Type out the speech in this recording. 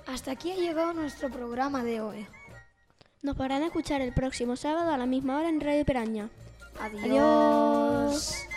Hasta aquí ha llegado nuestro programa de hoy. Nos podrán escuchar el próximo sábado a la misma hora en Radio Piraña. Adiós.